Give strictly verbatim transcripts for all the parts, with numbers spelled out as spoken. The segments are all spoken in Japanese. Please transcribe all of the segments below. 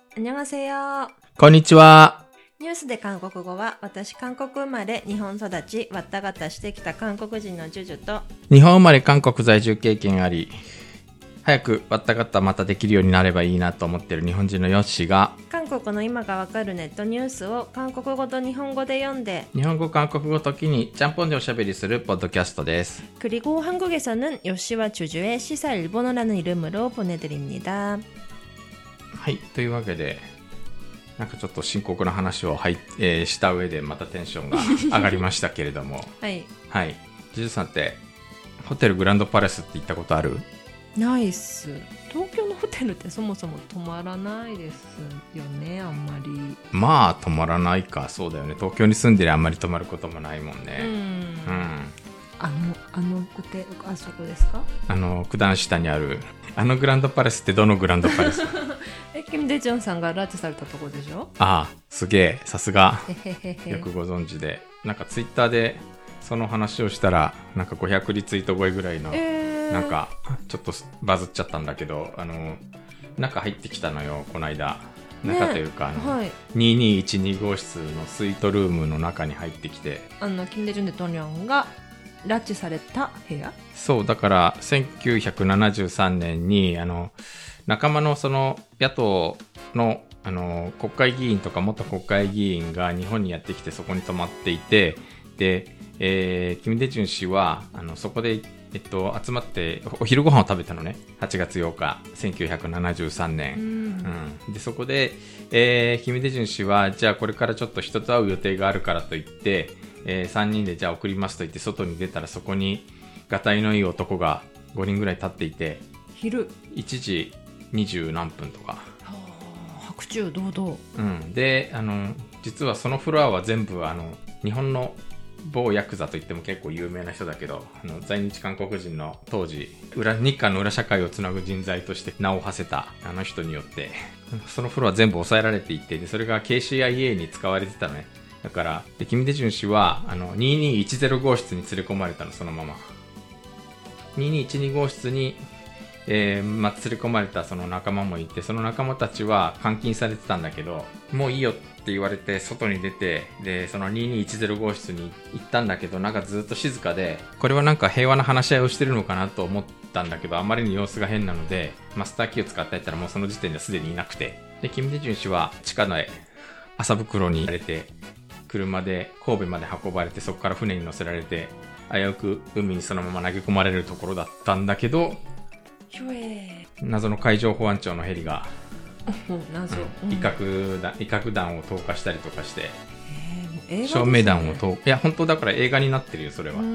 안녕하세요。 こんにちは。 ニュースで韓国語は、私韓国生まれ、日本育ち、わったがたしてきた韓国人のジュジュと、 日本生まれ韓国在住経験あり、早くわったがたまたできるようになればいいなと思っている日本人のヨッシーが、 韓国の今がわかるネットニュースを韓国語と日本語で読んで、 日本語韓国語時にちゃんぽんでおしゃべりするポッドキャストです。 그리고 한국에서는 요시와 주주의 시사 일본어라는 이름으로 보내드립니다。 はい、というわけでなんかちょっと深刻な話を、はいえー、した上でまたテンションが上がりましたけれどもはいはい、ジュジュさんってホテルグランドパレスって行ったことある？ ないっす。東京のホテルってそもそも泊まらないですよね、あんまり。 まあ泊まらないか。そうだよね、東京に住んでりゃあんまり泊まることもないもんね。 うん、 うん、 あのあのホテル、あそこですか？ あの九段下にあるあのグランドパレスってどのグランドパレス？ え、キム・デジョンさんが拉致されたとこでしょ？ ああ、すげえ、さすがへへへへよくご存知で、なんかツイッターでその話をしたらなんかごひゃくリツイート超えぐらいの、 えー、 なんかちょっとバズっちゃったんだけど、あの中入ってきたのよ、この間。中というか、あの、はい、ににいちに号室のスイートルームの中に入ってきて、 あのキム・デジョン大統領が拉致された部屋？ そうだから、せんきゅうひゃくななじゅうさんねんにあの仲間のその野党のあの国会議員とか元国会議員が日本にやってきて、そこに泊まっていて、で、えー、キム・デジュン氏はあのそこで、えっと、集まってお昼ご飯を食べたのね。はちがつようかせんきゅうひゃくななじゅうさんねん、うんうん、でそこで、えー、キム・デジュン氏はじゃあこれからちょっと人と会う予定があるからといって、えー、さんにんでじゃあ送りますと言って外に出たら、そこにがたいのいい男がごにんぐらい立っていて、 昼いちじにじゅうなんぷんとか、 白昼堂々、 うん、であの実はそのフロアは全部あの日本の某ヤクザといっても結構有名な人だけど、あの在日韓国人の当時裏日韓の裏社会をつなぐ人材として名を馳せたあの人によってそのフロア全部抑えられていて、でそれが ケーシーアイエー に使われてたのね。だからでキム・デジュン氏はあのににいちぜろ号室に連れ込まれたの。そのままににいちに号室に、えーまあ、連れ込まれたその仲間もいて、その仲間たちは監禁されてたんだけど、もういいよって言われて外に出て、でそのににいちぜろ号室に行ったんだけど、なんかずっと静かで、これはなんか平和な話し合いをしてるのかなと思ったんだけど、あまりに様子が変なのでマスターキーを使ってやったらもうその時点ですでにいなくて、でキム・デジュン氏は地下の麻袋に入れて車で神戸まで運ばれて、そこから船に乗せられて危うく海にそのまま投げ込まれるところだったんだけど、謎の海上保安庁のヘリが謎、 うん、威嚇弾、威嚇弾を投下したりとかして、 えーね、 照明弾を投、いや本当だから映画になってるよそれは。うん、うん、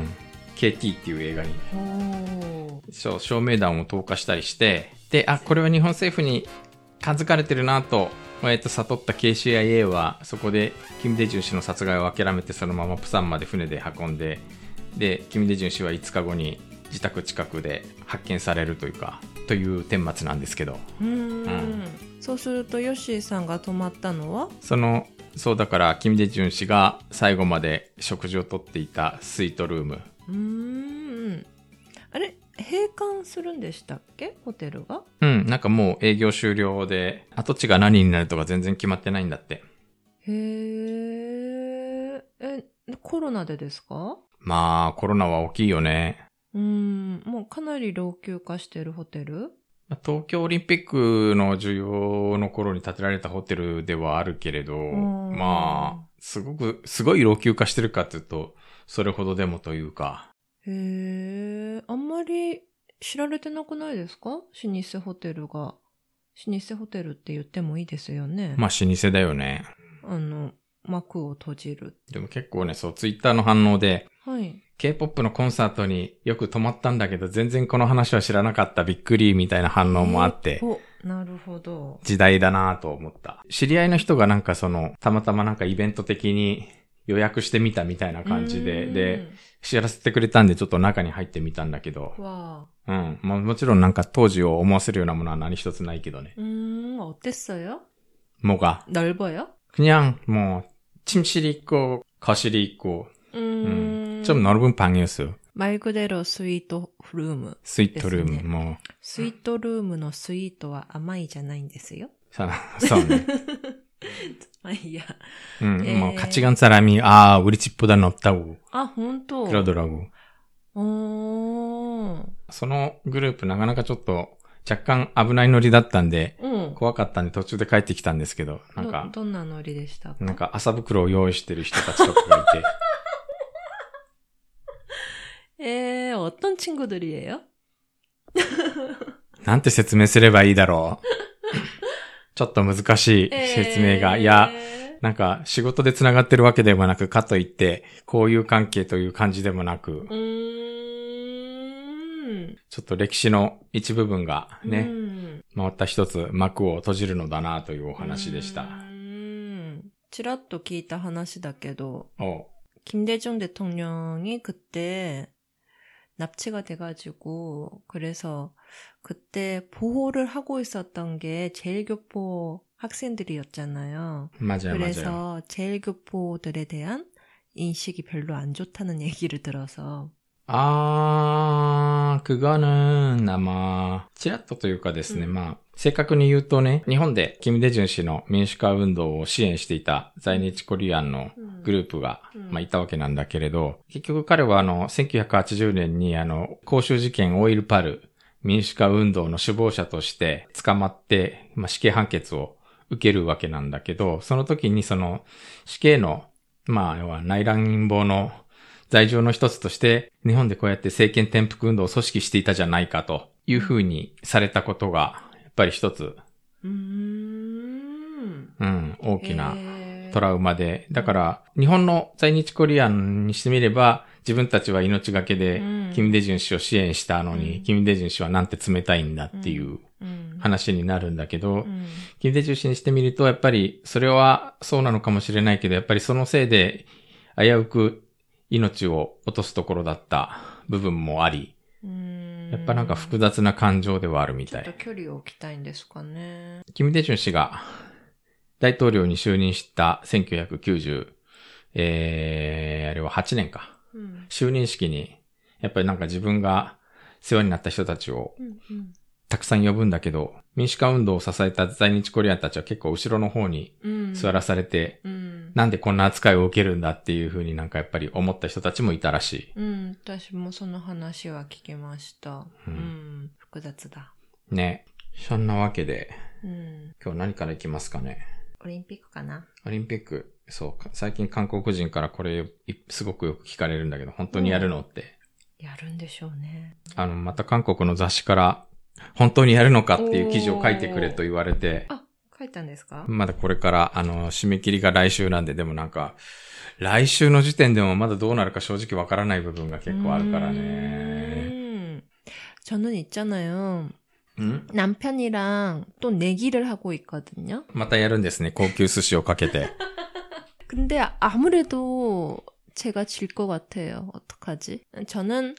ケーティー っていう映画にそう照明弾を投下したりして、であこれは日本政府に感づかれてるなと、えっと、悟った ケーシーアイエー はそこでキム・デジュン氏の殺害を諦めて、そのままプサンまで船で運んで、でキム・デジュン氏はいつかごに自宅近くで発見されるというかという顛末なんですけど、 うーん、うん、そうするとヨッシーさんが泊まったのはそのそうだからキム・デジュン氏が最後まで食事をとっていたスイートルーム。 うーん、あれ閉館するんでしたっけ、ホテルが？ うん、なんかもう営業終了で跡地が何になるとか全然決まってないんだって。 へー、えコロナでですか？ まあコロナは大きいよね。 うーん、もうかなり老朽化してるホテル？ 東京オリンピックの需要の頃に建てられたホテルではあるけれど、まあすごくすごい老朽化してるかというとそれほどでもというか。 へー、あんまり知られてなくないですか？老舗ホテルが。老舗ホテルって言ってもいいですよね。 まあ老舗だよね。 あの幕を閉じる。 でも結構ね、そうツイッターの反応で、 はい、 K-ポップ のコンサートによく泊まったんだけど全然この話は知らなかった、びっくりみたいな反応もあって、 えー、お、なるほど。 時代だなと思った。知り合いの人がなんかそのたまたまなんかイベント的に予約してみたみたいな感じで、で知らせてくれたんでちょっと中に入ってみたんだけど、 わうん、まあ、もちろんなんか当時を思わせるようなものは何一つないけどね。 うーん、어땠어요? 뭐가? 넓어요? 그냥 뭐 침실이 있고 거실이 있고, 음, 음, 좀 넓은 방이었어요. 말 그대로 스위트 룸. 스위트 룸, 뭐. 스위트 룸의 스위트는甘いじゃないんですよ。 さそうね。 まあいいや。 응, 예. 뭐 같이 간 사람이 아 우리 집보다는 없다고 あ、本当。 그러더라고. おー。 そのグループなかなかちょっと若干危ないノリだったんで、 うん。 怖かったんで途中で帰ってきたんですけど、なんか、 ど、どんなノリでしたか？ なんか麻袋を用意してる人たちとかがいて。えー、어떤 친구들이에요? なんて説明すればいいだろう。ちょっと難しい説明が。 えー、 いや、なんか仕事で繋がってるわけでもなく、かといって、交友関係という感じでもなく、 うーん、 ちょっと歴史の一部分がね、 うん、 また一つ幕を閉じるのだなというお話でした。 うーん、ちらっと聞いた話だけど、 お 김대중 대통령이 그때 납치가 돼가지고 그래서 그때 보호를 하고 있었던 게 제일교포 학생들이었잖아요. 맞아요, 그래서 맞아요. 제일교포들에 대한 인식이 별로 안 좋다는 얘기를 들어서. 아, 그거는 아마ちらっとというかですね、うん、まあ正確に言うとね、日本でキム・デジュン氏の民主化運動を支援していた在日コリアンのグループが、うん、まあいたわけなんだけれど、結局彼はあのせんきゅうひゃくはちじゅうねんにあの光州事件オイルパル民主化運動の首謀者として捕まって、まあ死刑判決を受けるわけなんだけど、その時にその死刑の、まあ要は内乱陰謀の罪状の一つとして、日本でこうやって政権転覆運動を組織していたじゃないかというふうにされたことが、やっぱり一つ、 うーん、 うん、大きなトラウマで、だから日本の在日コリアンにしてみれば、自分たちは命がけで、キム・デジュン氏を支援したのに、うん、キム・デジュン氏はなんて冷たいんだっていう話になるんだけど、うんうん、キム・デジュン氏にしてみると、やっぱりそれはそうなのかもしれないけど、やっぱりそのせいで危うく命を落とすところだった部分もあり、うーん、やっぱなんか複雑な感情ではあるみたい。 ちょっと距離を置きたいんですかね。 キム・デジュン氏が大統領に就任したせんきゅうひゃくきゅうじゅう、えー、あれははちねんか。うん、就任式に、やっぱりなんか自分が世話になった人たちをたくさん呼ぶんだけど、民主化運動を支えた在日コリアンたちは結構後ろの方に座らされて、うんうん、なんでこんな扱いを受けるんだっていう風になんかやっぱり思った人たちもいたらしい。 うん、私もその話は聞きました。うん、うん、複雑だ。 ね。そんなわけで、 うん、 今日何からいきますかね。 オリンピックかな。 オリンピック。そうか。最近韓国人からこれすごくよく聞かれるんだけど、本当にやるのって。 やるんでしょうね。 あの、また韓国の雑誌から本当にやるのかっていう記事を書いてくれと言われて。 あ、書いたんですか？ まだこれから、あの、締め切りが来週なんで、でもなんか、来週の時点でもまだどうなるか正直わからない部分が結構あるからね。 저는 있잖아요. 응? 남편이랑 또 내기를 하고 있거든요. またやるんですね。高級寿司をかけて。 근데 아무래도 제가 질 것 같아요. 어떡하지? 저는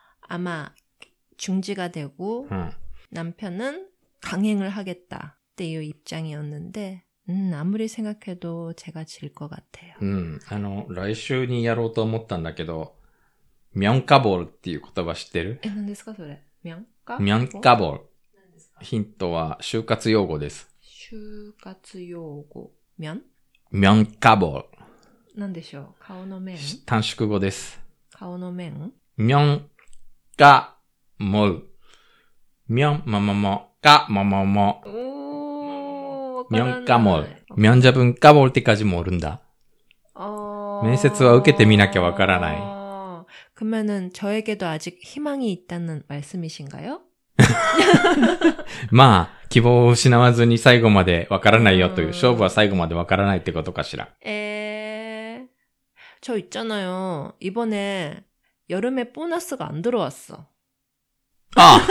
아마 중지가 되고 응. 남편은 강행을 하겠다. 때いう 입장이었는데 음, 아무리 생각해도 제가 질 것 같아요. うん。あの、来週にやろうと思ったんだけど、명가볼っていう言葉知ってる？ え、何ですかそれ？명가？ 명가볼。ヒントは就活用語です。 就活用語。면？ 명가볼。 何でしょう？顔の面？ 短縮語です。 顔の面？ 명가몰。면、ままま、が、ままま。 おー、 명가몰。면접은까볼 때까지모른다。面接は受けてみなきゃわからない。 그러면은 저에게도 아직 희망이 있다는 말씀이신가요? まあ、希望を失わずに最後までわからないよという、勝負は最後までわからないってことかしら。 에, 저 있잖아요. 이번에 여름에 보너스가 안 들어왔어. 아!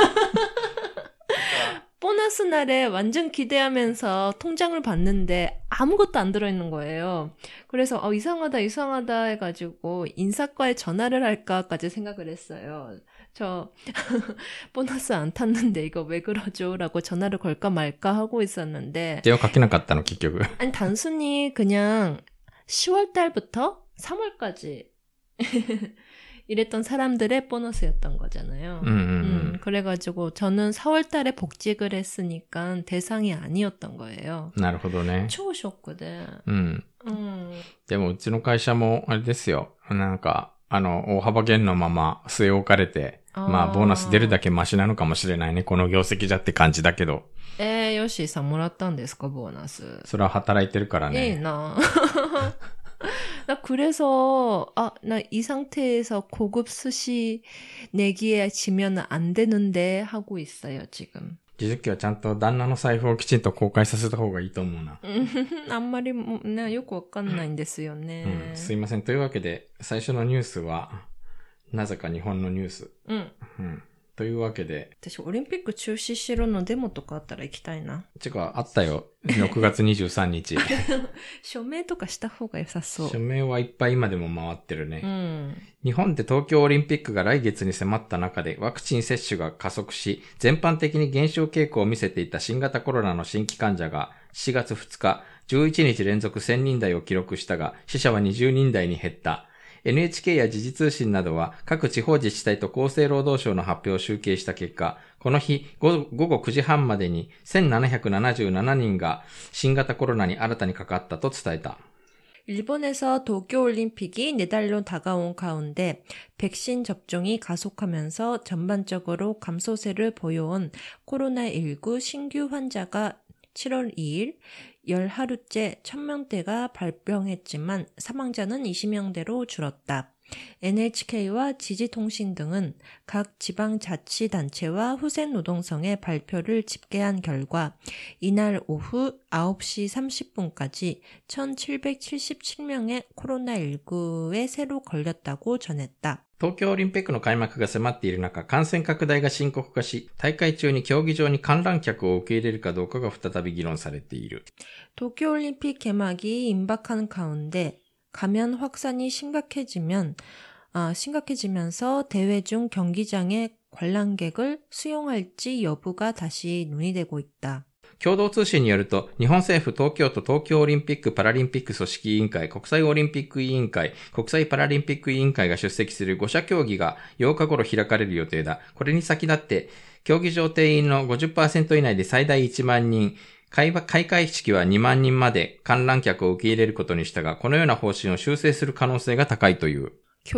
보너스 날에 완전 기대하면서 통장을 봤는데 아무것도 안 들어있는 거예요. 그래서 어, 이상하다 이상하다 해가지고 인사과에 전화를 할까까지 생각을 했어요. 저 보너스 안 탔는데 이거 왜 그러죠? 라고 전화를 걸까 말까 하고 있었는데 電話かけなかったの結局 아니 단순히 그냥 시월 달부터 삼월까지 이랬던 사람들의 보너스였던 거잖아요. 음, 음, 음. 음, 그래가지고 저는 사월 달에 복직을 했으니까 대상이 아니었던 거예요. なるほどね。 超ショックで。 うん。 うん。 でもうちの会社もあれですよ。なんか、あの、大幅減のまま据え置かれて、まあ、ボーナス出るだけマシなのかもしれないね。この業績じゃって感じだけど。 えー、ヨッシーさんもらったんですか、ボーナス。 それは働いてるからね。 いいな。나 그래서 아, 나 이 상태에서 고급 스시 내기에 지면 안 되는데 하고 있어요, 지금. 実績はちゃんと旦那の財布をきちんと公開させた方がいいと思うな。 あんまりね、よくわかんないんですよね、 うん。すいません。というわけで、最初のニュースは、なぜか日本のニュース。 うん。 うん。というわけで。 私、オリンピック中止しろのデモとかあったら行きたいな。 てか、あったよ。ろくがつにじゅうさんにち。 署名とかした方が良さそう。 署名はいっぱい今でも回ってるね。 うん。日本で東京オリンピックが来月に迫った中でワクチン接種が加速し、全般的に減少傾向を見せていた新型コロナの新規患者がしがつふつか、じゅういちにち連続せんにん台を記録したが、死者はにじゅうにん台に減った。エヌエイチケー や時事通信などは各地方自治体と厚生労働省の発表を集計した結果、この日午後くじはんまでにせんななひゃくななじゅうななにんが新型コロナに新たにかかったと伝えた。 일본에서 도쿄올림픽이 내달로 다가온 가운데 백신 접종이 가속하면서 전반적으로 감소세를 보여온 코로나십구 신규 환자가 칠월 이일 열 하루째 천 명대가 발병했지만 사망자는 이십 명대로 줄었다. 엔에이치케이와 지지통신 등은 각 지방자치단체와 후생노동성의 발표를 집계한 결과 이날 오후 아홉 시 삼십 분까지 천칠백칠십칠 명의 코로나십구에 새로 걸렸다고 전했다. 東京オリンピックの開幕が迫っている中、感染拡大が深刻化し、大会中に競技場に観覧客を受け入れるかどうかが再び議論されている。 도쿄올림픽 개막이 임박한 가운데 감염 확산이 심각해지면 아, 심각해지면서 대회 중 경기장에 관람객을 수용할지 여부가 다시 논의되고 있다. 共同通信によると、日本政府、東京都東京オリンピック・パラリンピック組織委員会、国際オリンピック委員会、国際パラリンピック委員会が出席するご者協議がようか頃開かれる予定だ。これに先立って、競技場定員の ごじゅっパーセント 以内で最大いちまんにん、開会式はにまんにんまで観覧客を受け入れることにしたが、このような方針を修正する可能性が高いという。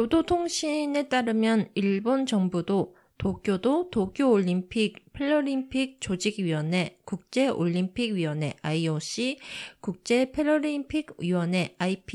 교도통신에 따르면 일본 정부도 도쿄도 도쿄올림픽, 패럴림픽 조직위원회, 국제올림픽위원회 아이오씨, 국제패럴림픽위원회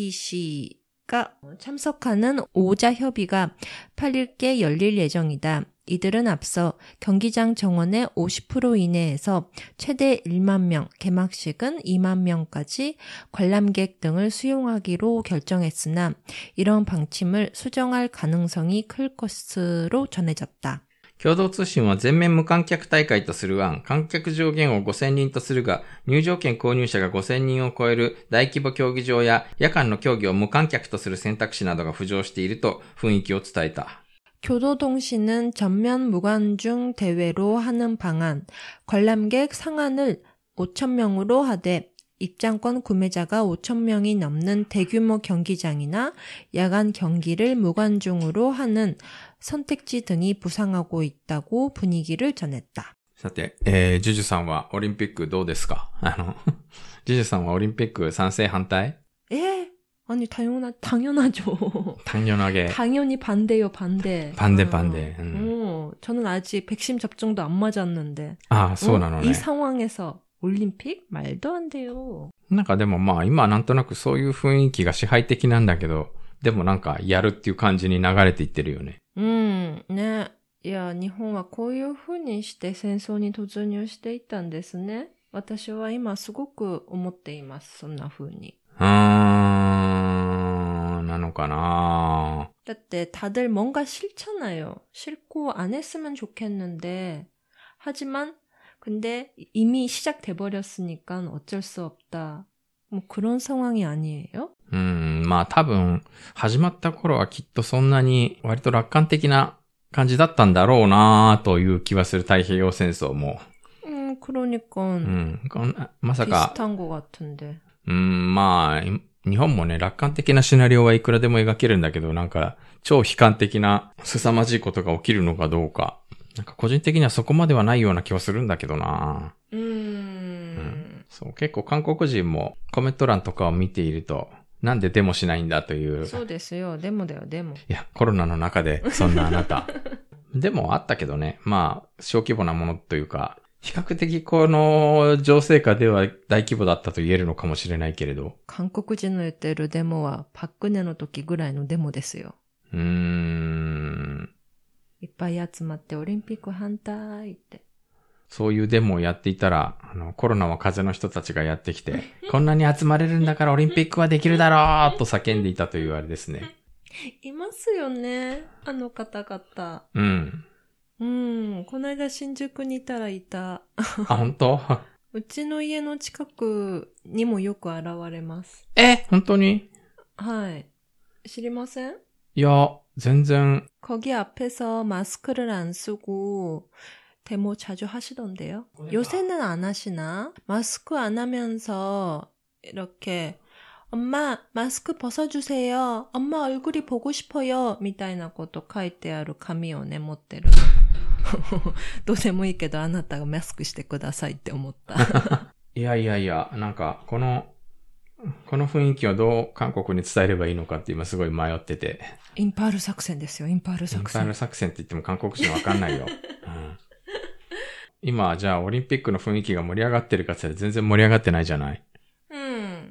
아이피씨가 참석하는 오자 협의가 팔 일께 열릴 예정이다. 이들은 앞서 경기장 정원의 오십 퍼센트 이내에서 최대 일만 명, 개막식은 이만 명까지 관람객 등을 수용하기로 결정했으나 이런 방침을 수정할 가능성이 클 것으로 전해졌다. 共同通信は全面無観客大会とする案、観客上限をごせんにんとするが、入場券購入者がごせんにんを超える大規模競技場や夜間の競技を無観客とする選択肢などが浮上していると雰囲気を伝えた。 교도통신은 전면 무관중 대회로 하는 방안, 관람객 상한을 오천 명으로 하되 입장권 구매자가 오천 명이 넘는 대규모 경기장이나 야간 경기를 무관중으로 하는 선택지 등이 부상하고 있다고 분위기를 전했다. さて、えー、ジュジュさんはオリンピックどうですか？あの、ジュジュさんはオリンピック賛成反対？ 예. 아니 당연하 당연하죠. 당연하게. 당연히 반대요, 반대. 반대 반대. 음. 어, 저는 아직 백신 접종도 안 맞았는데. 아, そうなのね。 이 상황에서 올림픽 말도 안 돼요. なんかでもまあ今なんとなくそういう雰囲気が支配的なんだけど、でもなんかやるっていう感じに流れていってるよね。 うん、ね。いや、日本はこういう風にして戦争に突入していったんですね。私は今すごく思っています。そんな風に。 うーん、なのかな。 だって다들 뭔가 싫잖아요. 싫고 안 했으면 좋겠는데 하지만 근데 이미 시작돼 버렸으니까 어쩔 수 없다. 뭐 그런 상황이 아니에요? うん、まあ多分始まった頃はきっとそんなに割と楽観的な感じだったんだろうなという気はする。太平洋戦争も。 음, 그러니까. うん、まさか。 비슷한 것 같은데. うん、まあ、 日本もね、楽観的なシナリオはいくらでも描けるんだけど、なんか、超悲観的な凄まじいことが起きるのかどうか。なんか個人的にはそこまではないような気はするんだけどな。 うーん。うんん。そう、結構韓国人もコメント欄とかを見ていると、なんでデモしないんだという。 そうですよ。デモだよ、デモ。 いや、コロナの中で、そんなあなた。でもあったけどね。まあ、小規模なものというか、比較的この情勢下では大規模だったと言えるのかもしれないけれど。 韓国人の言ってるデモはパククネの時ぐらいのデモですよ。 うーん。 いっぱい集まってオリンピック反対って。 そういうデモをやっていたら、あの、コロナは風邪の人たちがやってきて、こんなに集まれるんだからオリンピックはできるだろうと叫んでいたというあれですね。 いますよね。あの方々。 うん。 うん。この間新宿にいたらいた。 あ、本当？ うちの家の近くにもよく現れます。 え、本当に？ はい。知りません？ いや、全然。 거기 앞에서 마스크를 안 쓰고 데모 자주 하시던데요. 요새는 안 하시나? 마스크 안 하면서 이렇게 엄마 마스크 벗어주세요. 엄마 얼굴이 보고 싶어요. みたいなこと書いてある紙をね持ってる。どうでもいいけどあなたがマスクしてくださいって思った。 いやいやいや、なんかこのこの雰囲気をどう韓国に伝えればいいのかって今すごい迷ってて。 インパール作戦ですよ、インパール作戦。 インパール作戦って言っても韓国人わかんないよ。うん、今じゃあオリンピックの雰囲気が盛り上がってるかって言ったら全然盛り上がってないじゃない。 うん。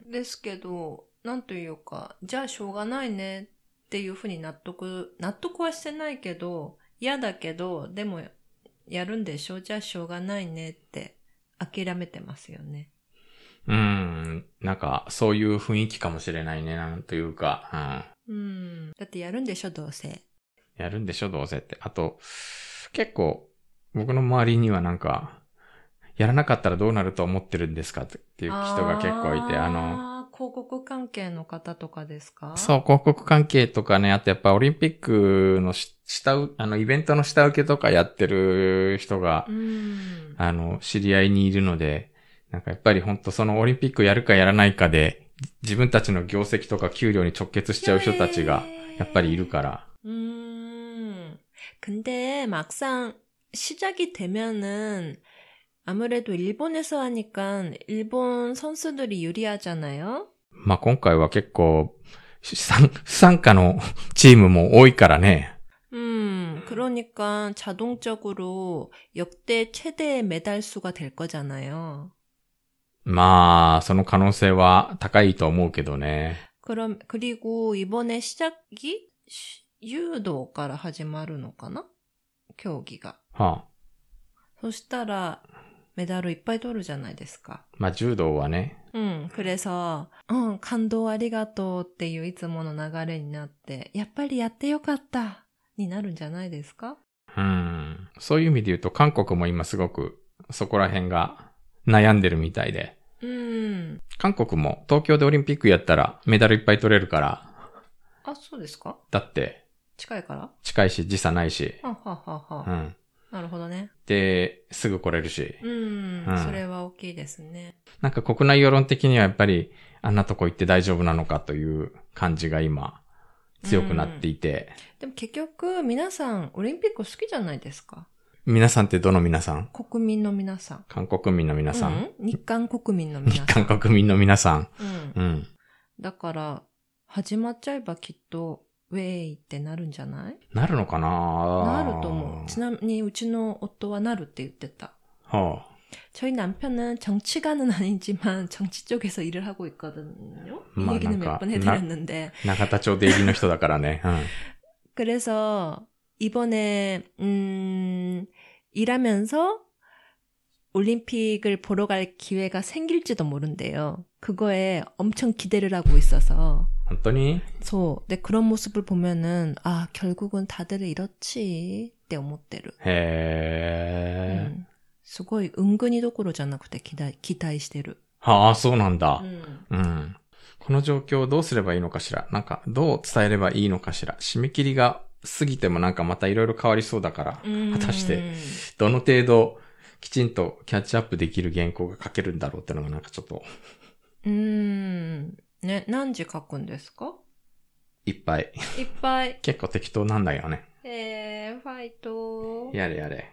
ですけど、なんというか、じゃあしょうがないねっていうふうに納得、納得はしてないけど、嫌だけど、でもやるんでしょ？じゃあしょうがないねって諦めてますよね。 うーん。なんか、そういう雰囲気かもしれないね。なんというか。 うん。うん。だってやるんでしょ、どうせ。 やるんでしょ、どうせって。あと、結構、僕の周りにはなんか、やらなかったらどうなると思ってるんですかっていう人が結構いて、あの、 広告関係の方とかですか？ そう、広告関係とかね、あとやっぱオリンピックの下、あの、イベントの下請けとかやってる人が、 うん、 あの、知り合いにいるので、なんかやっぱり本当そのオリンピックやるかやらないかで、自分たちの業績とか給料に直結しちゃう人たちが、やっぱりいるから。 うーん。근데 막상 시작이 되면은 아무래도 일본에서 하니까 일본 선수들이 유리하잖아요. まあ今回は結構不参加のチームも多いからね。 음, 그러니까 자동적으로 역대 최대의 메달 수가 될 거잖아요. まあその可能性は高いと思うけどね。 그럼 그리고 이번에 시작이 유도から始まるのかな? 경기가. はあ。 そしたらメダルいっぱい取るじゃないですか。 まあ柔道はね。 うん。그래서、うん、感動ありがとうっていういつもの流れになって、やっぱりやってよかったになるんじゃないですか？ うん。そういう意味で言うと韓国も今すごくそこら辺が悩んでるみたいで。 うん。 韓国も東京でオリンピックやったらメダルいっぱい取れるから。 あ、そうですか？ だって。 近いから？ 近いし時差ないし。 はははは。 うん。 なるほどね。 で、すぐ来れるし。 うん、うん。それは大きいですね。 なんか国内世論的にはやっぱりあんなとこ行って大丈夫なのかという感じが今強くなっていて。 うん、でも結局皆さんオリンピック好きじゃないですか？ 皆さんってどの皆さん？ 国民の皆さん。 韓国民の皆さん、 うん、日韓国民の皆さん。 日韓国民の皆さん。 うん。 うん。 だから始まっちゃえばきっとウェイってなるんじゃない？ なるのかな？ なると思う。ちなみにうちの夫はなるって言ってた。 はあ。 저희 남편은 정치가는 아니지만 정치 쪽에서 일을 하고 있거든요. 이 얘기는 몇 번 해드렸는데. 나가타초 대기の人だからね. 응. 그래서 이번에 음, 일하면서 올림픽을 보러 갈 기회가 생길지도 모른대요. 그거에 엄청 기대를 하고 있어서. 本当に? 소, 네, 그런 모습을 보면은 아, 결국은 다들 이렇지って思ってる. 해. 음, すごい은근히どころじゃなくて期待、期待してる. はあ、そうなんだ。 うん。 うん。この状況をどうすればいいのかしら。なんかどう伝えればいいのかしら。締め切りが過ぎてもなんかまたいろいろ変わりそうだから、果たしてどの程度きちんとキャッチアップできる原稿が書けるんだろうってのがなんかちょっと。 うーん。 ね、何字書くんですか？ いっぱい。 いっぱい。 結構適当なんだよね。 えー、ファイト。 やれやれ。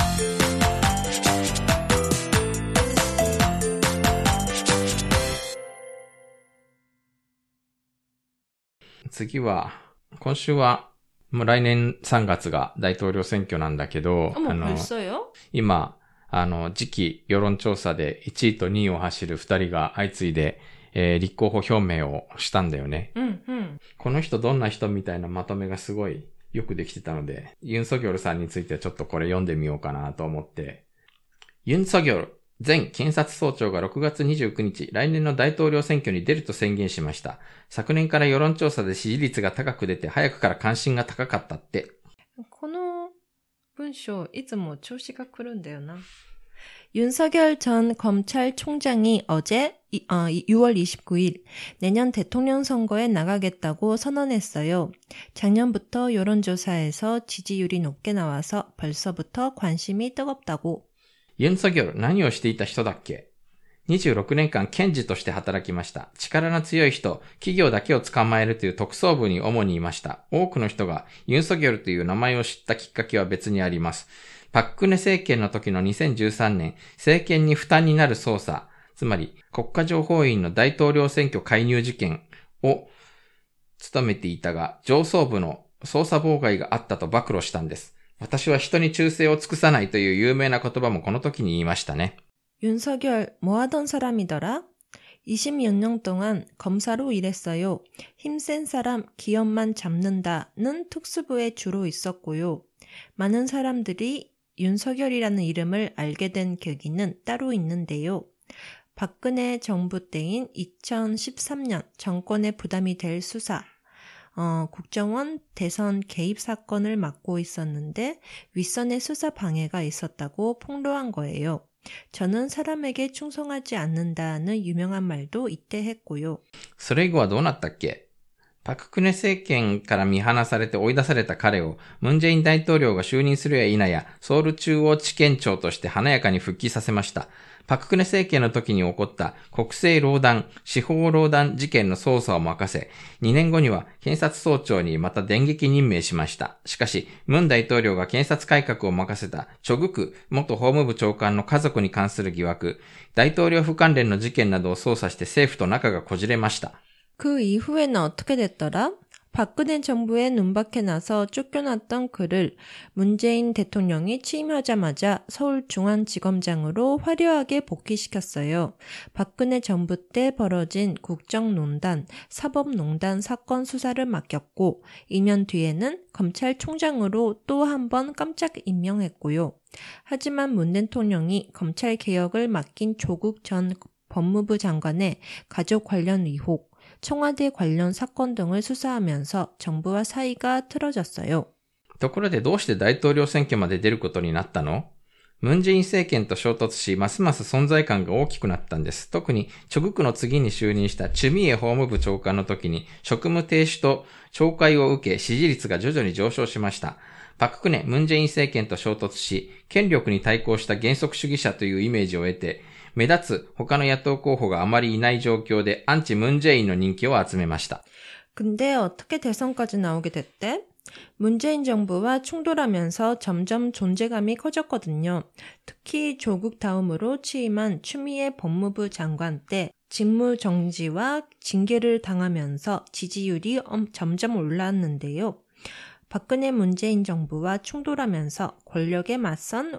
次は、今週は、もう来年さんがつが大統領選挙なんだけど、 あ、もう벌써요？ 今、あの、次期世論調査でいちいとにいを走るふたりが相次いで、えー、立候補表明をしたんだよね。 うんうん。 この人どんな人みたいなまとめがすごいよくできてたので、ユン・ソギョルさんについてはちょっとこれ読んでみようかなと思って。ユン・ソギョル前検察総長がろくがつにじゅうくにち、来年の大統領選挙に出ると宣言しました。昨年から世論調査で支持率が高く出て、早くから関心が高かったって。 この文章、いつも調子が来るんだよな。윤석열 전 검찰총장이 어제 유월 이십구일 내년 대통령 선거에 나가겠다고 선언했어요. 작년부터 여론조사에서 지지율이 높게 나와서 벌써부터 관심이 뜨겁다고. ユン・ソギョル、何をしていた人だっけ？にじゅうろくねんかん検事として働きました。力の強い人、企業だけを捕まえるという特捜部に主にいました。多くの人がユン・ソギョルという名前を知ったきっかけは別にあります。パククネ政権の時のにせんじゅうさんねん、政権に負担になる捜査、つまり国家情報院の大統領選挙介入事件を務めていたが、上層部の捜査妨害があったと暴露したんです。私は人に忠誠を尽くさないという有名な言葉もこの時に言いましたね。 윤석열 뭐 하던 사람이더라? 이십육 년 동안 검사로 일했어요. 힘센 사람 기업만 잡는다는 특수부에 주로 있었고요. 많은 사람들이 윤석열이라는 이름을 알게 된 계기는 따로 있는데요. 박근혜 정부 때인 이천십삼 년 정권에 부담이 될 수사, 어, 국정원 대선 개입 사건을 맡고 있었는데 윗선의 수사 방해가 있었다고 폭로한 거예요. 저는 사람에게 충성하지 않는다는 유명한 말도 이때 했고요. それ以後はどうなったっけ？パククネ政権から見放されて追い出された彼を、ムンジェイン大統領が就任するや否や、ソウル中央地検庁として華やかに復帰させました。パククネ政権の時に起こった国政壟断、司法壟断事件の捜査を任せ、にねんごには検察総長にまた電撃任命しました。しかし、ムン大統領が検察改革を任せたチョグク元法務部長官の家族に関する疑惑、大統領府関連の事件などを捜査して政府と仲がこじれました。 그 이후에는 어떻게 됐더라? 박근혜 정부에 눈밖에 나서 쫓겨났던 그를 문재인 대통령이 취임하자마자 서울중앙지검장으로 화려하게 복귀시켰어요. 박근혜 정부 때 벌어진 국정농단, 사법농단 사건 수사를 맡겼고 이 년 뒤에는 검찰총장으로 또 한 번 깜짝 임명했고요. 하지만 문 대통령이 검찰개혁을 맡긴 조국 전 법무부 장관의 가족 관련 의혹, 청와대 관련 사건 등을 수사하면서 정부와 사이가 틀어졌어요. ところでどうして大統領選挙まで出ることになったの？ムンジェイン政権と衝突し、ますます存在感が大きくなったんです。特に、チョグクの次に就任したチュミエ法務部長官の時に、職務停止と懲戒を受け、支持率が徐々に上昇しました。パククネ、ムンジェイン政権と衝突し、権力に対抗した原則主義者というイメージを得て、目立つ他の野党候補があまりいない状況でアンチムンジェインの人気を集めました。 근데 어떻게 대선까지 나오게 됐대? 문재인 정부와 충돌하면서 점점 존재감이 커졌거든요. 특히 조국 다음으로 취임한 추미애 법무부 장관 때 직무 정지와 징계를 당하면서 지지율이 점점 올랐는데요. 박근혜 문재인 정부와 충돌하면서 권력에 맞선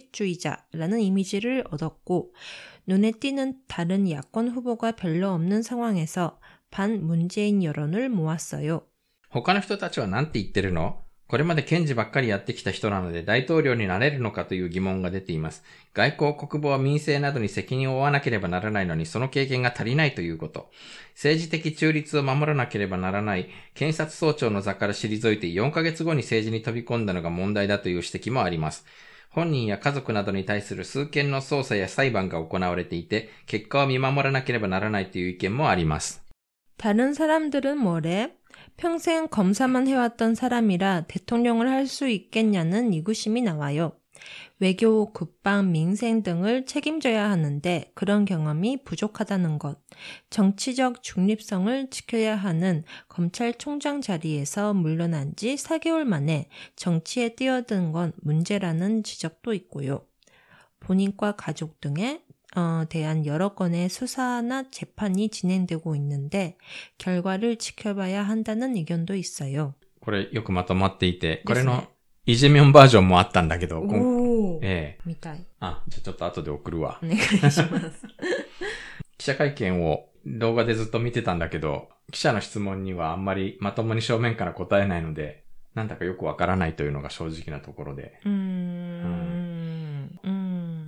원칙주의자라는 이미지를 얻었고 눈에 띄는 다른 야권 후보가 별로 없는 상황에서 반 문재인 여론을 모았어요. 他の人たちは何て言ってるの？これまで検事ばっかりやってきた人なので大統領になれるのかという疑問が出ています。外交、国防、民政などに責任を負わなければならないのにその経験が足りないということ。政治的中立を守らなければならない検察総長の座から退いてよんかげつごに政治に飛び込んだのが問題だという指摘もあります。本人や家族などに対する数件の捜査や裁判が行われていて、結果を見守らなければならないという意見もあります。 다른 사람들은 뭐래? 평생 검사만 해왔던 사람이라 대통령을 할 수 있겠냐는 의구심이 나와요. 외교, 국방, 민생 등을 책임져야 하는데 그런 경험이 부족하다는 것, 정치적 중립성을 지켜야 하는 검찰총장 자리에서 물러난 지 사 개월 만에 정치에 뛰어든 건 문제라는 지적도 있고요. 본인과 가족 등에 어, 대한 여러 건의 수사나 재판이 진행되고 있는데 결과를 지켜봐야 한다는 의견도 있어요. これよくまとまっていて、これのイジェミョンバージョンもあったんだけど、 おー、 ええ、 見たい。 あ、じゃあちょっと後で送るわ。 お願いします。 記者会見を動画でずっと見てたんだけど、記者の質問にはあんまりまともに正面から答えないので、なんだかよくわからないというのが正直なところで。 うーん。うん。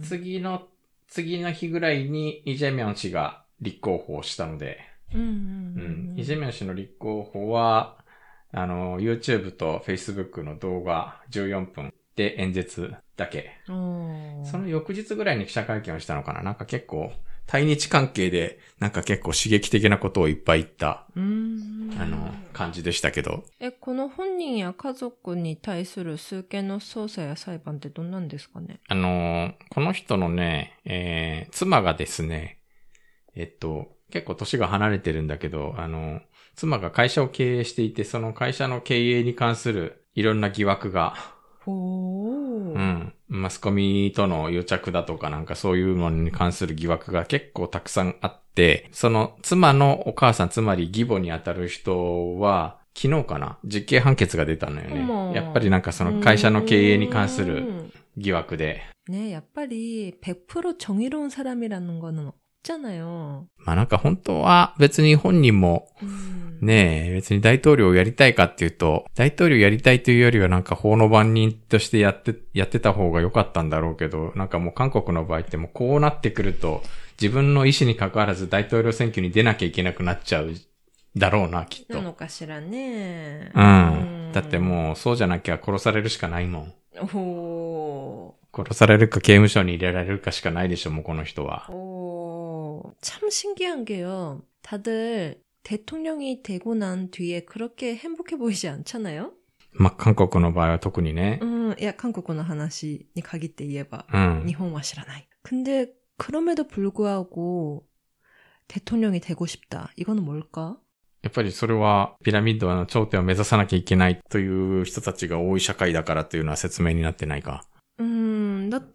次の、次の日ぐらいにイ・ジェミョン氏が立候補をしたので、 うんうんうんうん、 イ・ジェミョン氏の立候補は、あの、YouTube と Facebook の動画じゅうよんぷんで演説だけ。その翌日ぐらいに記者会見をしたのかな。なんか結構、対日関係で、なんか結構刺激的なことをいっぱい言った、あの、感じでしたけど。 え、この本人や家族に対する数件の捜査や裁判ってどんなんですかね？ あの、この人のね、えー、妻がですね、えっと、結構年が離れてるんだけど、あの、妻が会社を経営していて、その会社の経営に関するいろんな疑惑が、 ほー。 うん。マスコミとの癒着だとかなんかそういうのに関する疑惑が結構たくさんあって、その妻のお母さん、つまり義母にあたる人は、昨日かな実刑判決が出たのよね。やっぱりなんかその会社の経営に関する疑惑で。 ね、やっぱり백 퍼센트 정의로운 사람이라는 거는 없잖아요. まあなんか本当は別に本人も、ねえ、別に大統領をやりたいかっていうと、大統領やりたいというよりはなんか法の番人としてやって、やってた方が良かったんだろうけど、なんかもう韓国の場合ってもうこうなってくると、自分の意思に関わらず大統領選挙に出なきゃいけなくなっちゃうだろうな、きっと。 なのかしらね。 うん。だってもうそうじゃなきゃ殺されるしかないもん。 ほー。 殺されるか刑務所に入れられるかしかないでしょ、もうこの人は。 오, 참 신기한 게요. 다들 대통령이 되고 난 뒤에 그렇게 행복해 보이지 않잖아요? まあ、韓国の場合は特にね。 음, 야, 한국의話に限って言えば, 음. 일본은 知らない. 근데 그럼에도 불구하고 대통령이 되고 싶다. 이거는 뭘까? やっぱりそれはピラミッドの頂点を目指さなきゃいけないという人たちが多い社会だからというのは説明になってないか。 음, だって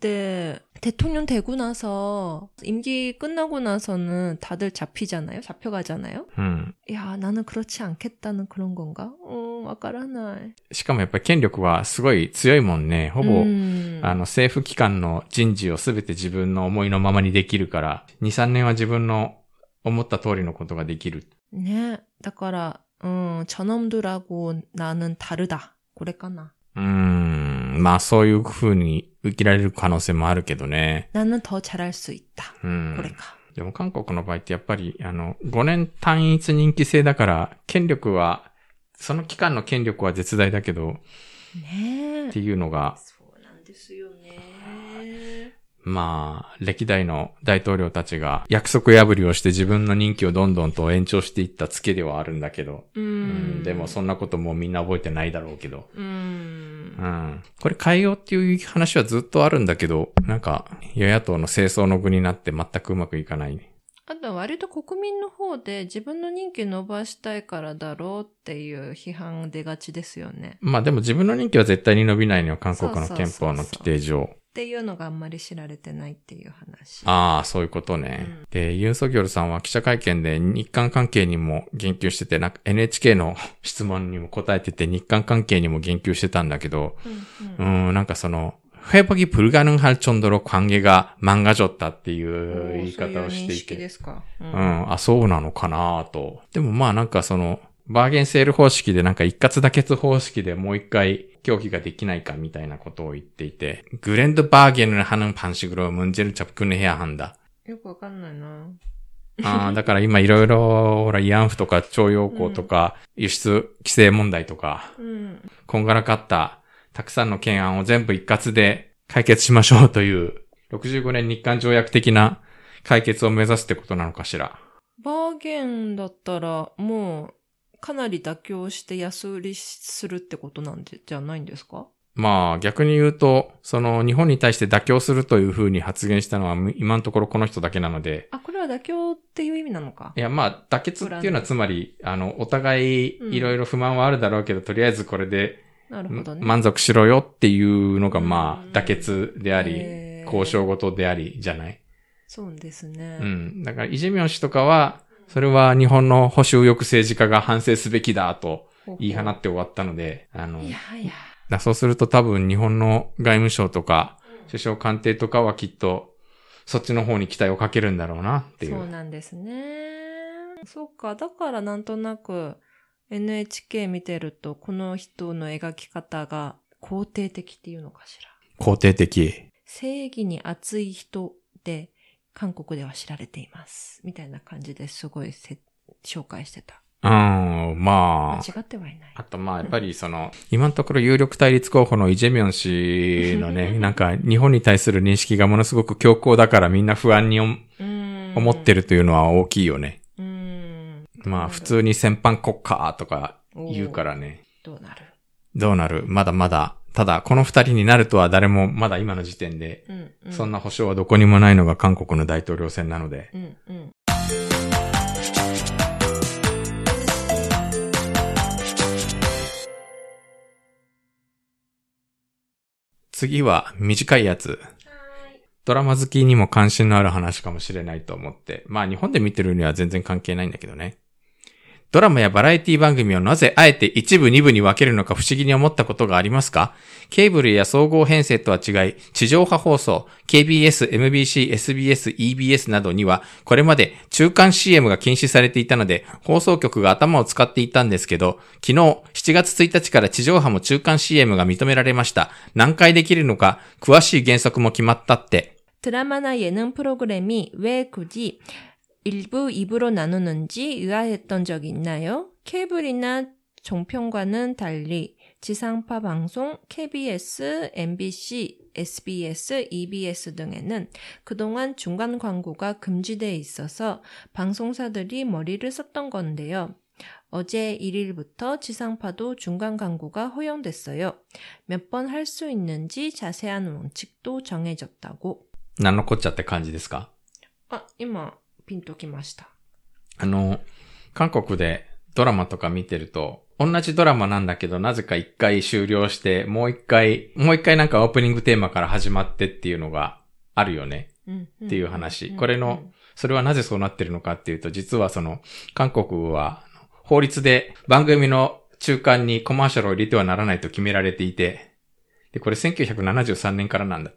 대통령 되고 나서 임기 끝나고 나서는 다들 잡히잖아요. 잡혀가잖아요. 음. 야, 나는 그렇지 않겠다는 그런 건가? 어, わからない。 しかもやっぱり権力はすごい強いもんね。ほぼ、 うん、 あの政府機関の人事をすべて自分の思いのままにできるから、に、さんねんは自分の思った通りのことができる。 ね。だから、うん、저놈들하고 나는 다르다。これかな。 うーん、まあそういう風に受けられる可能性もあるけどね。 나는 더 잘할 수 있다。 うん。 これか。 でも韓国の場合ってやっぱり、あの、ごねん単一任期制だから、権力は、その期間の権力は絶大だけど、 ねえ。 っていうのが、 そうなんですよね。 まあ、歴代の大統領たちが約束破りをして自分の任期をどんどんと延長していったツケではあるんだけど、 うん、うん、 でもそんなこともうみんな覚えてないだろうけど、 うん、 うん、これ変えようっていう話はずっとあるんだけど、なんか与野党の政争の具になって全くうまくいかない。 あとは割と国民の方で自分の任期伸ばしたいからだろうっていう批判出がちですよね。 まあでも自分の任期は絶対に伸びないのよ、韓国の憲法の規定上。 っていうのがあんまり知られてないっていう話。 ああ、そういうことね。うん、で、ユン・ソギョルさんは記者会見で日韓関係にも言及してて、なんか エヌエイチケー の質問にも答えてて、日韓関係にも言及してたんだけど、うん、うん、なんかその、회복이 불가능할 정도로 관계가 망가졌다っていう言い方をしていて。そういう認識ですか。うん、うん、あ、そうなのかなと。でもまあなんかその、バーゲンセール方式でなんか一括妥結方式でもう一回協議ができないかみたいなことを言っていて、グレンドバーゲンを하는 방식으로 문제를 접근해야 한다。 よくわかんないな。 あだから今いろいろ、ほら、慰安婦とか徴用工とか、うん、輸出規制問題とか、うん、こんがらかったたくさんの懸案を全部一括で解決しましょうという、ろくじゅうごねん日韓条約的な解決を目指すってことなのかしら。 バーゲンだったら、もう、かなり妥協して安売りするってことなんじゃないんですか？ まあ逆に言うと、その日本に対して妥協するというふうに発言したのは今のところこの人だけなので。 あ、これは妥協っていう意味なのか。 いや、まあ妥結っていうのはつまり、あの、お互いいろいろ不満はあるだろうけど、うん、とりあえずこれで、 なるほどね、 満足しろよっていうのがまあ妥結であり、交渉事でありじゃない。 そうですね。 うん。だからイ・ジェミョン氏とかは、それは日本の保守右翼政治家が反省すべきだと言い放って終わったので、あの、 いやいや。 だそうすると多分日本の外務省とか、首相官邸とかはきっと、そっちの方に期待をかけるんだろうなっていう。 そうなんですね。そうか。だからなんとなく エヌエイチケー 見てると、この人の描き方が肯定的っていうのかしら。 肯定的。 正義に熱い人で、韓国では知られています。みたいな感じですごいせ紹介してた。 うん、まあ。 間違ってはいない。 あとまあ、やっぱりその、今のところ有力対立候補のイ・ジェミョン氏のね、なんか日本に対する認識がものすごく強硬だからみんな不安に思ってるというのは大きいよね。 うん。 まあ、普通に戦犯国家とか言うからね。 どうなるどうなるまだまだ。ただ、この二人になるとは誰もまだ今の時点で、 うんうん、 そんな保証はどこにもないのが韓国の大統領選なので。 うんうん次は短いやつ。ドラマ好きにも関心のある話かもしれないと思って。まあ日本で見てるには全然関係ないんだけどね。ドラマやバラエティ番組をなぜあえて一部二部に分けるのか不思議に思ったことがありますか？ケーブルや総合編成とは違い、地上波放送、ケービーエス、エムビーシー、エスビーエス、イービーエス などには、これまで中間 シーエム が禁止されていたので、放送局が頭を使っていたんですけど、昨日しちがつついたちから地上波も中間 シーエム が認められました。何回できるのか、詳しい原則も決まったって。 드라마나 예능 프로그램이 왜 굳이 일 부, 이 부로 나누는지 의아했던 적이 있나요? 케이블이나 종편과는 달리 지상파 방송, 케이비에스, 엠비씨, 에스비에스, 이비에스 등에는 그동안 중간 광고가 금지돼 있어서 방송사들이 머리를 썼던 건데요. 어제 일 일부터 지상파도 중간 광고가 허용됐어요. 몇 번 할 수 있는지 자세한 원칙도 정해졌다고. 何のこっちゃって感じですか？ あ、今ピンときました。 あの、韓国でドラマとか見てると、同じドラマなんだけど、なぜか一回終了して、もう一回、もう一回なんかオープニングテーマから始まってっていうのがあるよね。うんうん、っていう話。これの、それはなぜそうなってるのかっていうと、実はその、韓国は法律で番組の中間にコマーシャルを入れてはならないと決められていて、で、これせんきゅうひゃくななじゅうさんねんからなんだって。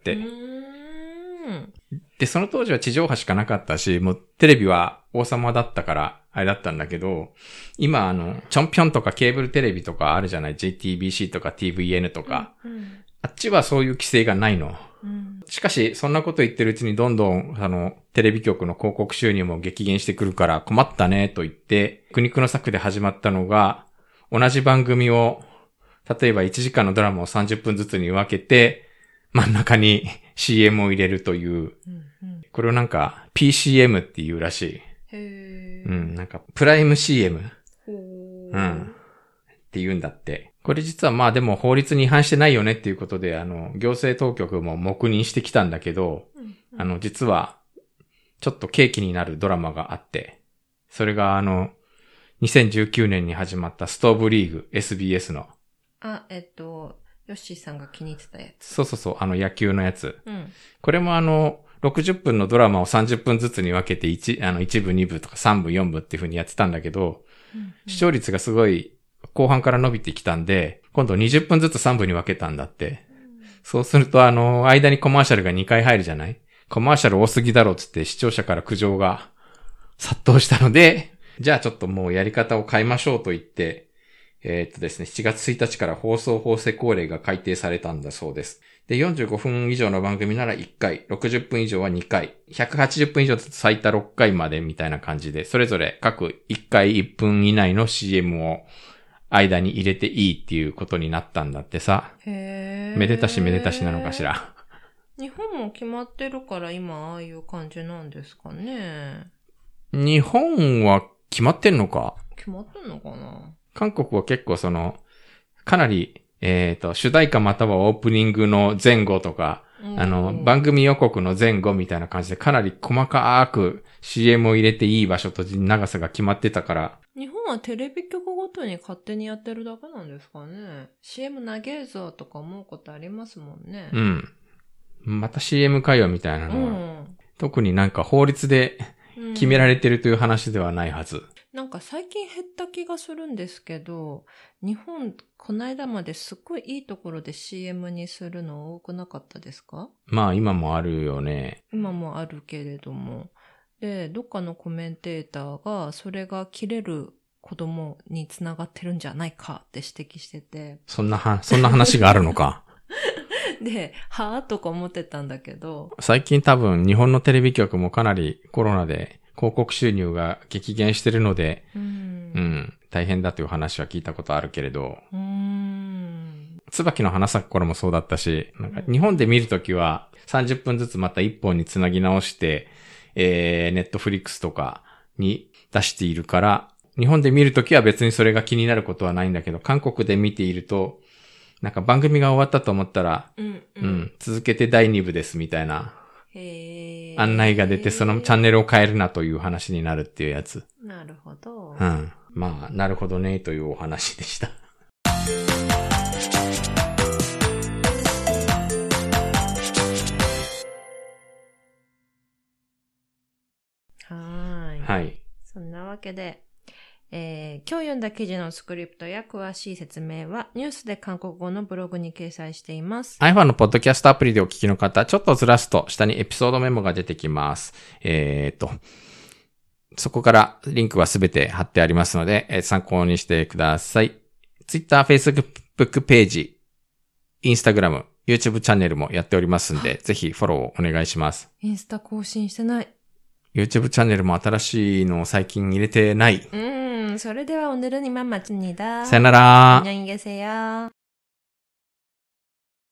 で、その当時は地上波しかなかったし、もうテレビは王様だったから、あれだったんだけど、今あの、チョンピョンとかケーブルテレビとかあるじゃない？ ジェイティービーシー とか ティーブイエヌ とか、うんうん、あっちはそういう規制がないの。うん、しかし、そんなこと言ってるうちにどんどん、あの、テレビ局の広告収入も激減してくるから困ったねと言って、苦肉の策で始まったのが、同じ番組を、例えばいちじかんのドラマをさんじゅっぷんずつに分けて、真ん中に シーエム を入れるという、うんうん、これをなんか ピーシーエム っていうらしい。へー。うん、なんかプライム シーエム。うん。って言うんだって。これ実はまあでも法律に違反してないよねっていうことで、あの、行政当局も黙認してきたんだけど、うんうん、あの、実は、ちょっと契機になるドラマがあって、それがあの、にせんじゅうきゅうねんに始まったストーブリーグ エスビーエス の。 あ、えっと、ヨッシーさんが気に入ってたやつ。 そうそうそう、あの野球のやつ。うん、これもあの、ろくじゅっぷんのドラマをさんじゅっぷんずつに分けていち、あの、いち部、に部とかさん部、よん部っていう風にやってたんだけど、うんうん、視聴率がすごい後半から伸びてきたんで、今度にじゅっぷんずつさん部に分けたんだって。うん、そうするとあの、間にコマーシャルがにかい入るじゃない？コマーシャル多すぎだろうつって視聴者から苦情が殺到したので、じゃあちょっともうやり方を変えましょうと言って、えー、っとですね、しちがつついたちから放送法制法令が改定されたんだそうです。で、よんじゅうごふん以上の番組ならいっかい、ろくじゅっぷん以上はにかい、ひゃくはちじゅっぷん以上だと最多ろっかいまでみたいな感じで、それぞれ各いっかいいっぷん以内の シーエム を間に入れていいっていうことになったんだってさ。へー。めでたしめでたしなのかしら。 日本も決まってるから今ああいう感じなんですかね。 日本は決まってんのか？ 決まってんのかな？ 韓国は結構その、かなりえっと、主題歌またはオープニングの前後とか、あの、番組予告の前後みたいな感じでかなり細かく シーエム を入れていい場所と長さが決まってたから。 日本はテレビ局ごとに勝手にやってるだけなんですかね。シーエム 長えぞとか思うことありますもんね。 うん。また シーエム かよみたいなのは、うん、特になんか法律で決められてるという話ではないはず。うん、 なんか最近減った気がするんですけど、日本、この間まですっごいいいところで シーエム にするの多くなかったですか？ まあ今もあるよね。 今もあるけれども。で、どっかのコメンテーターがそれが切れる子供につながってるんじゃないかって指摘してて。 そんなは、そんな話があるのか。 で、はぁとか思ってたんだけど。 最近多分日本のテレビ局もかなりコロナで広告収入が激減してるので、うん、うん、大変だという話は聞いたことあるけれど、うーん、椿の花咲く頃もそうだったし、なんか日本で見るときはさんじゅっぷんずつまたいっぽんにつなぎ直して、えー、ネットフリックスとかに出しているから、日本で見るときは別にそれが気になることはないんだけど、韓国で見ていると、なんか番組が終わったと思ったら、うん、うんうん、続けてだいに部ですみたいな案内が出て、そのチャンネルを変えるなという話になるっていうやつ。 なるほど。 うん。まあ、なるほどねというお話でした。 はい。 はい。 そんなわけで、えー、今日読んだ記事のスクリプトや詳しい説明はニュースで韓国語のブログに掲載しています。 iPhone のポッドキャストアプリでお聞きの方、ちょっとずらすと下にエピソードメモが出てきます。えー、っと、そこからリンクはすべて貼ってありますので、えー、参考にしてください。Twitter、Facebook ページ、Instagram、YouTube チャンネルもやっておりますんで、ぜひフォローお願いします。 インスタ更新してない。 YouTube チャンネルも新しいのを最近入れてない。 うん、それでは오늘은 이만 마칩니다。 さよなら。 안녕히 계세요。